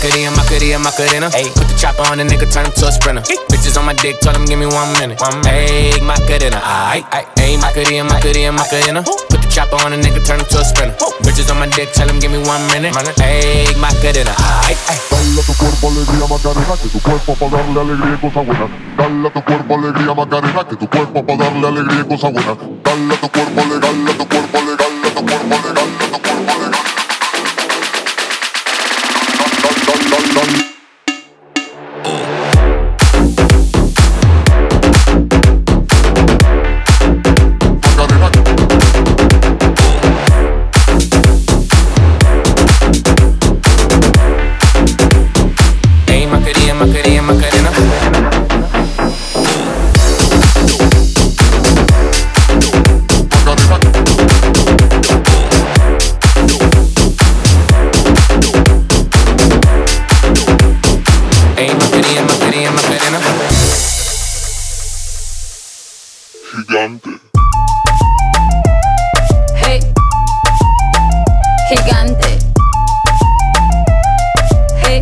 Macarena. Ayy, put the chopper on the nigga, turn him to a sprinter. Bitches on my dick, tell him give me 1 minute. Ayy, Macarena. Ayy, Macarena. Put the chopper on the nigga, turn him to a sprinter. Bitches on my dick, tell him give me 1 minute. Ayy, Macarena. Dale a tu cuerpo alegría Macarena, que tu cuerpo pa' darle alegría y cosa buena. Dale a tu cuerpo alegría Macarena, que tu cuerpo pa' darle alegría y cosa buena. Dale a tu cuerpo legal, a tu cuerpo legal, a tu cuerpo legal, a tu cuerpo legal. Macarena. Gigante. Hey, gigante. Hey,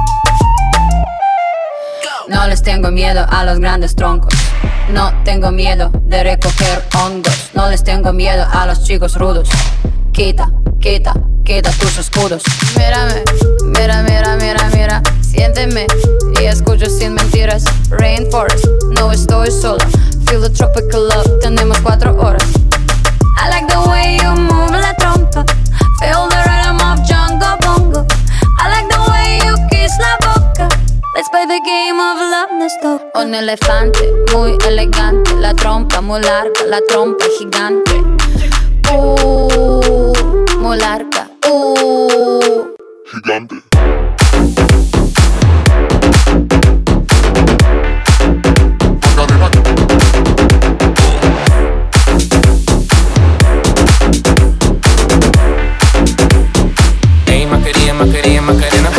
no les tengo miedo a los grandes troncos. No tengo miedo de recoger hongos. No les tengo miedo a los chicos rudos. Quita tus escudos. Mírame, mira. Siénteme y escucho sin mentiras. Rainforest, no estoy sola. Feel the tropical love, tenemos 4 horas. I like the way you move la trompa. Feel the rhythm of Jungle Bongo. I like the way you kiss la boca. Let's play the game of love, nos toca. Un elefante muy elegante. La trompa muy larga, la trompa gigante. Muy larga. Gigante. Macarena.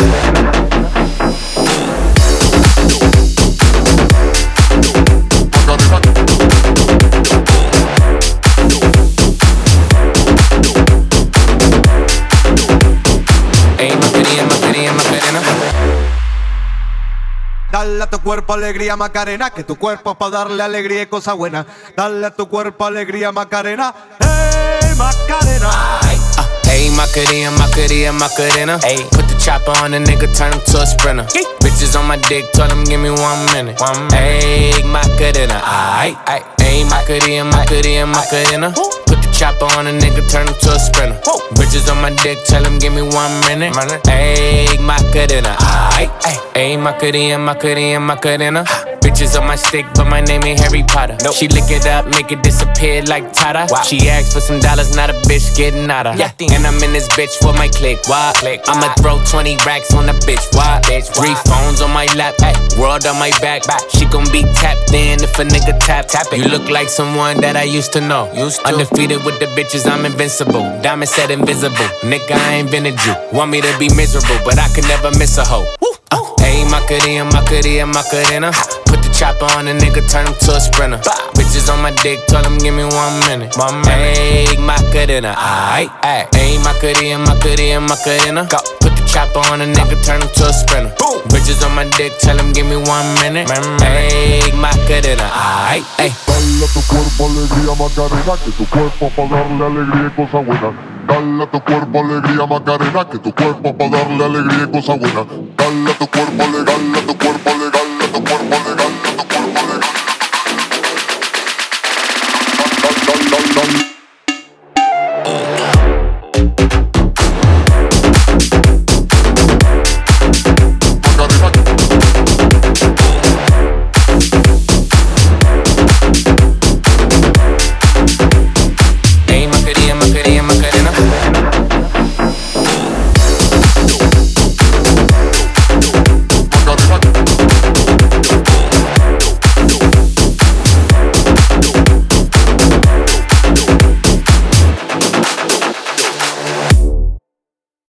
Dale a tu cuerpo alegría Macarena, que tu cuerpo pa' darle alegría y cosa buena. Dale a tu cuerpo alegría Macarena, hey Macarena. Ayy, Macarena. Ayy, put the chopper on the nigga, turn him to a sprinter. Bitches on my dick, tell him give me 1 minute. Ayy, Macarena. Ayy, Macarena. Put the chopper on a nigga, turn him to a sprinter. Bitches on my dick, tell him give me 1 minute. Ayy, Macarena. Ayy, Macarena. Bitches on my stick, but my name ain't Harry Potter. Nope. She lick it up, make it disappear like Tata. Wow. She asked for some dollars, not a bitch getting out of. Yeah. And I'm in this bitch for my click. Why? I'ma throw 20 racks on the bitch. Why? 3 phones on my lap, ay, world on my back. She gon' be tapped in if a nigga tap it. You look like someone that I used to know. Undefeated with the bitches, I'm invincible. Diamond said invisible. Nigga, I ain't been a Jew. Want me to be miserable, but I can never miss a hoe. Ayy, Macarena. Put the chopper on a nigga, turn him to a sprinter. Bitches on my dick, tell him give me 1 minute. Ayy, Macarena. Ayy, Macarena. Put the chopper on a nigga, turn him to a sprinter. Bitches on my dick, tell him give me 1 minute. Ayy, Macarena. Dale a tu cuerpo alegría Macarena, que tu cuerpo pa' darle alegría y cosa buena. Dale a tu cuerpo alegría Macarena, que tu cuerpo pa' darle alegría y cosa buena. Dale a tu cuerpo legal, a tu cuerpo legal, a tu cuerpo legal.